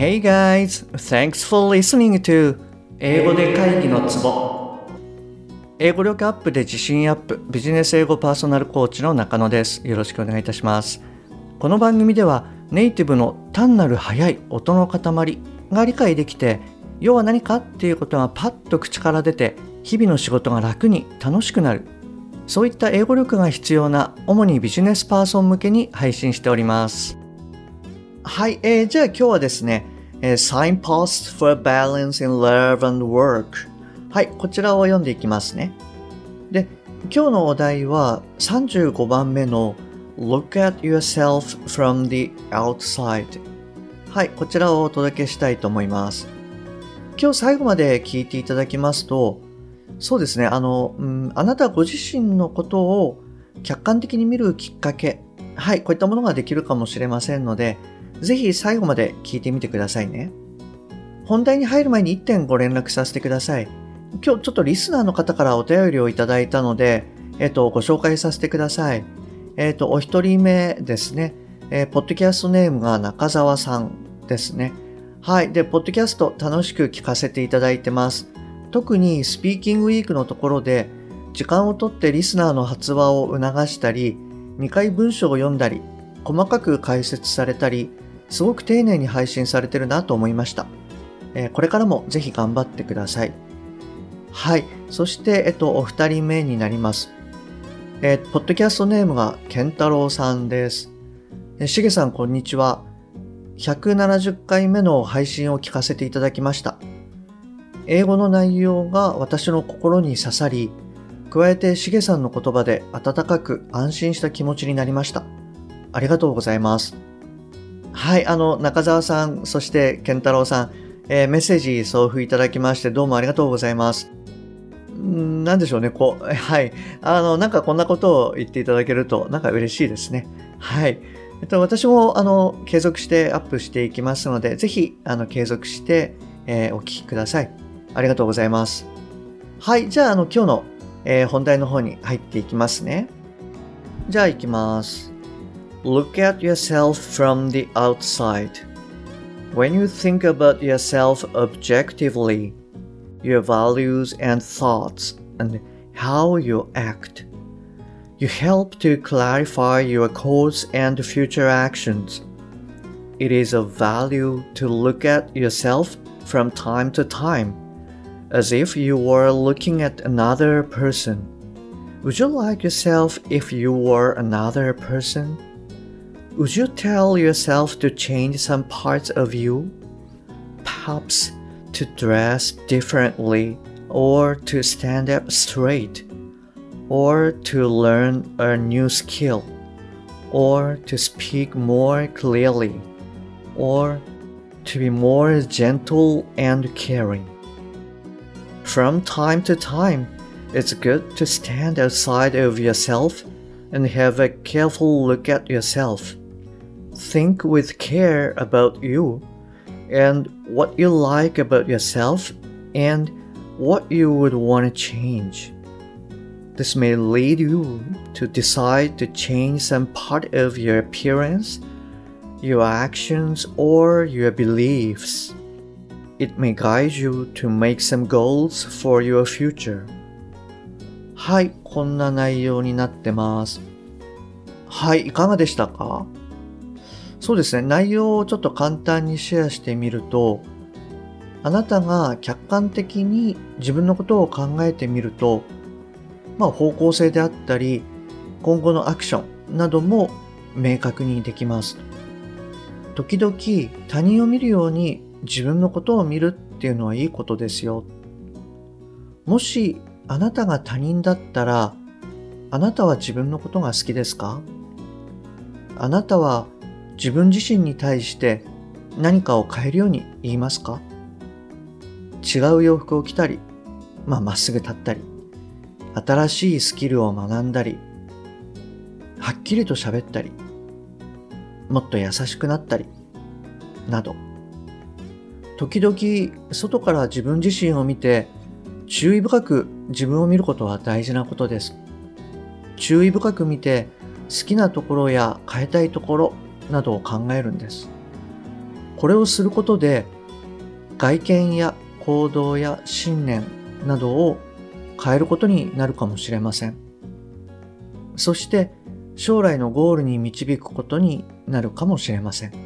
Hey guys, thanks for listening to 英語で会議のツボ。英語力アップで自信アップ、ビジネス英語パーソナルコーチの中野です。よろしくお願いいたします。この番組ではネイティブの単なる速い音の塊が理解できて、要は何かっていうことがパッと口から出て、日々の仕事が楽に楽しくなる。そういった英語力が必要な主にビジネスパーソン向けに配信しております。はい、じゃあ今日はですね、Signposts for Balance in Love and Work。はい、こちらを読んでいきますね。で、今日のお題は35番目の Look at yourself from the outside。はい、こちらをお届けしたいと思います。今日最後まで聞いていただきますと、そうですね、あなたご自身のことを客観的に見るきっかけ、はい、こういったものができるかもしれませんので、ぜひ最後まで聞いてみてくださいね。本題に入る前に1点ご連絡させてください。今日ちょっとリスナーの方からお便りをいただいたので、ご紹介させてください。お一人目ですね。ポッドキャストネームが中澤さんですね。はい。で、ポッドキャスト楽しく聞かせていただいてます。特にスピーキングウィークのところで、時間をとってリスナーの発話を促したり、2回文章を読んだり、細かく解説されたり、すごく丁寧に配信されてるなと思いました。これからもぜひ頑張ってください。はい。そして、お二人目になります。ポッドキャストネームが健太郎さんです。しげさん、こんにちは。170回目の配信を聞かせていただきました。英語の内容が私の心に刺さり、加えてしげさんの言葉で温かく安心した気持ちになりました。ありがとうございます。はい、中澤さん、そして健太郎さん、メッセージ送付いただきましてどうもありがとうございます。なんでしょうね、はい、なんかこんなことを言っていただけるとなんか嬉しいですね。はい。私も継続してアップしていきますので、ぜひ継続して、お聞きください。ありがとうございます。はい、じゃあ今日の、本題の方に入っていきますね。じゃあ行きます。Look at yourself from the outside. When you think about yourself objectively, your values and thoughts and how you act, you help to clarify your course and future actions. It is of value to look at yourself from time to time, as if you were looking at another person. Would you like yourself if you were another person? Would you tell yourself to change some parts of you? Perhaps to dress differently, or to stand up straight, or to learn a new skill, or to speak more clearly, or to be more gentle and caring. From time to time, it's good to stand outside of yourself and have a careful look at yourself. Think with care about you and what you like about yourself and what you would want to change. This may lead you to decide to change some part of your appearance, your actions, or your beliefs. It may guide you to make some goals for your future. はい、こんな内容になってます。はい、いかがでしたか？そうですね、内容をちょっと簡単にシェアしてみると、あなたが客観的に自分のことを考えてみると、方向性であったり、今後のアクションなども明確にできます。時々他人を見るように自分のことを見るっていうのはいいことですよ。もしあなたが他人だったら、あなたは自分のことが好きですか？あなたは自分自身に対して何かを変えるように言いますか？違う洋服を着たり、まっすぐ立ったり、新しいスキルを学んだり、はっきりと喋ったり、もっと優しくなったり、など。時々外から自分自身を見て、注意深く自分を見ることは大事なことです。注意深く見て、好きなところや変えたいところなどを考えるんです。 これをすることで外見や行動や信念などを変えることになるかもしれません。そして将来のゴールに導くことになるかもしれません。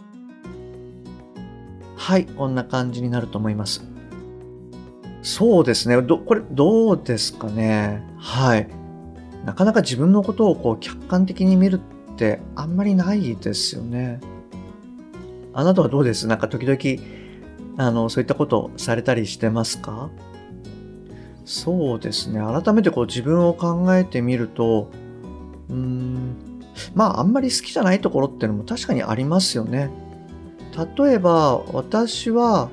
はい、こんな感じになると思います。そうですね。これどうですかね。はい。なかなか自分のことを客観的に見るってあんまりないですよね。あなたはどうです？なんか時々そういったことされたりしてますか？そうですね。改めて自分を考えてみると、あんまり好きじゃないところっていうのも確かにありますよね。例えば、私は、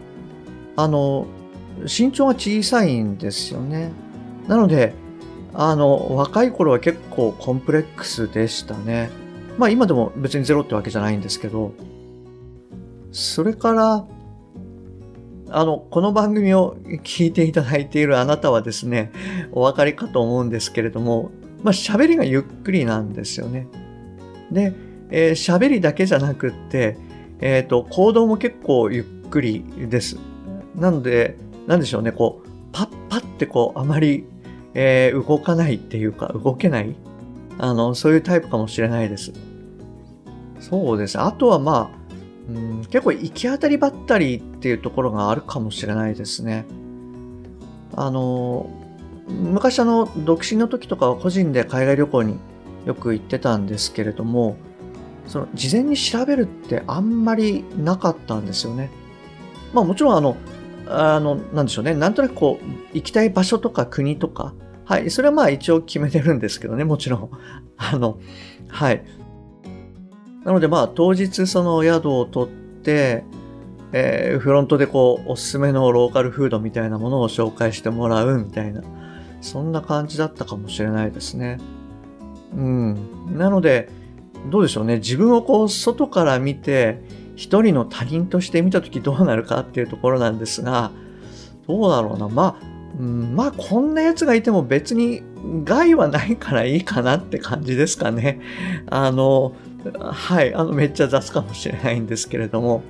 身長が小さいんですよね。なので、若い頃は結構コンプレックスでしたね。今でも別にゼロってわけじゃないんですけど、それから、この番組を聞いていただいているあなたはですね、お分かりかと思うんですけれども、喋りがゆっくりなんですよね。で、喋りだけじゃなくって、行動も結構ゆっくりです。なので、なんでしょうね、パッパってあまり、動かないっていうか、動けない、そういうタイプかもしれないです。そうですね。あとは結構行き当たりばったりっていうところがあるかもしれないですね。昔独身の時とかは個人で海外旅行によく行ってたんですけれども、事前に調べるってあんまりなかったんですよね。もちろんなんでしょうね、なんとなく行きたい場所とか国とか、はい、それは一応決めてるんですけどね、もちろん。はい。なので当日その宿を取って、フロントでおすすめのローカルフードみたいなものを紹介してもらうみたいな、そんな感じだったかもしれないですね。なので、どうでしょうね。自分を外から見て、一人の他人として見たときどうなるかっていうところなんですが、どうだろうな。こんなやつがいても別に害はないからいいかなって感じですかね。はい、めっちゃ雑かもしれないんですけれども。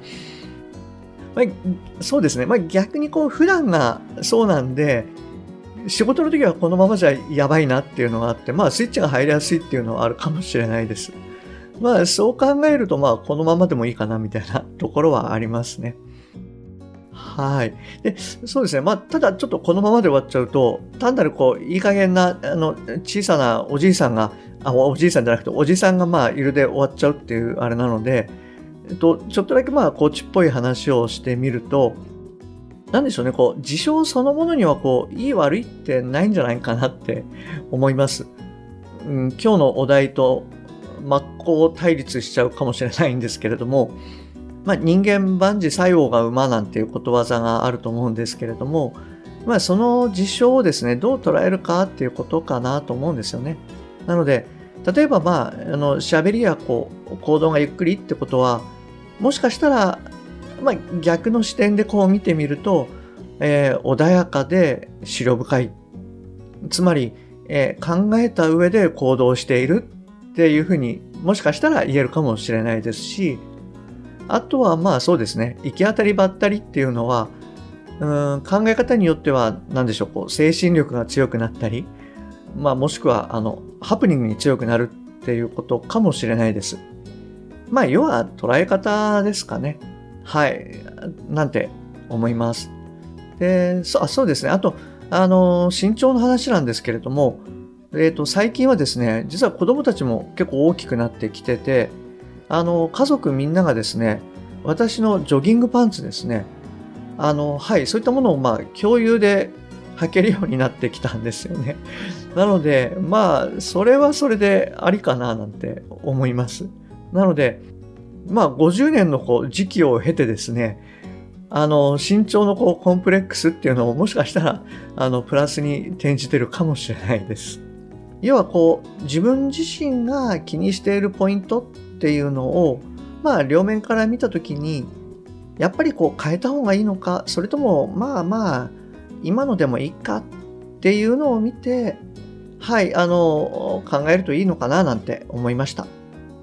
そうですね。逆に普段がそうなんで、仕事の時はこのままじゃやばいなっていうのがあって、スイッチが入りやすいっていうのはあるかもしれないです。そう考えると、このままでもいいかなみたいなところはありますね。はい。で、そうですね。ただちょっとこのままで終わっちゃうと、単なるいい加減な、小さなおじいさんが、おじいさんじゃなくて、おじさんがいるで終わっちゃうっていうあれなので、ちょっとだけコーチっぽい話をしてみると、なんでしょうね、事象そのものにはいい悪いってないんじゃないかなって思います。今日のお題と真っ向対立しちゃうかもしれないんですけれども、人間万事作用が馬なんていうことわざがあると思うんですけれども、その事象をですね、どう捉えるかっていうことかなと思うんですよね。なので、例えば喋りや行動がゆっくりってことは、もしかしたら、逆の視点で見てみると、穏やかで思慮深い。つまり、考えた上で行動しているっていうふうにもしかしたら言えるかもしれないですし、あとはそうですね、行き当たりばったりっていうのは、考え方によっては何でしょう、精神力が強くなったり、もしくはハプニングに強くなるっていうことかもしれないです。要は捉え方ですかね。はい、なんて思います。で、そうですね。あと身長の話なんですけれども、最近はですね、実は子供たちも結構大きくなってきてて、家族みんながですね、私のジョギングパンツですね、はい、そういったものを共有で履けるようになってきたんですよね。なので、それはそれでありかななんて思います。なので、50年の時期を経てですね、身長のコンプレックスっていうのももしかしたら、プラスに転じてるかもしれないです。要は自分自身が気にしているポイントっていうのを、両面から見たときに、やっぱり変えた方がいいのか、それとも今のでもいいかっていうのを見て、はい、考えるといいのかななんて思いました。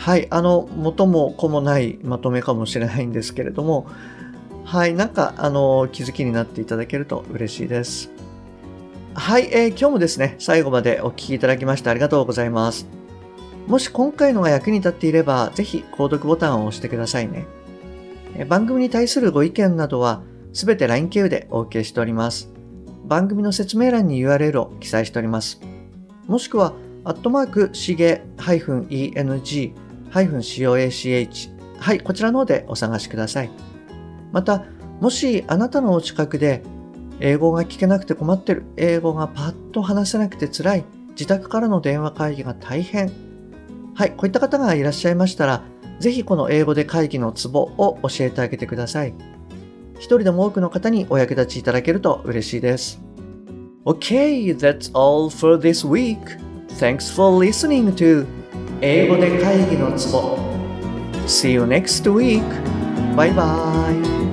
はい、元も子もないまとめかもしれないんですけれども、はい、なんか気づきになっていただけると嬉しいです。はい、今日もですね、最後までお聞きいただきましてありがとうございます。もし今回のが役に立っていれば、ぜひ購読ボタンを押してくださいね。番組に対するご意見などは、すべて LINE 経由でお受けしております。番組の説明欄に URL を記載しております。もしくは、しげ-eng-coach はい、こちらの方でお探しください。また、もしあなたのお近くで、英語が聞けなくて困ってる、英語がパッと話せなくて辛い、自宅からの電話会議が大変。はい、こういった方がいらっしゃいましたら、ぜひこの英語で会議のツボを教えてあげてください。一人でも多くの方にお役立ちいただけると嬉しいです。Okay, that's all for this week. Thanks for listening to 英語で会議のツボ. See you next week. Bye bye.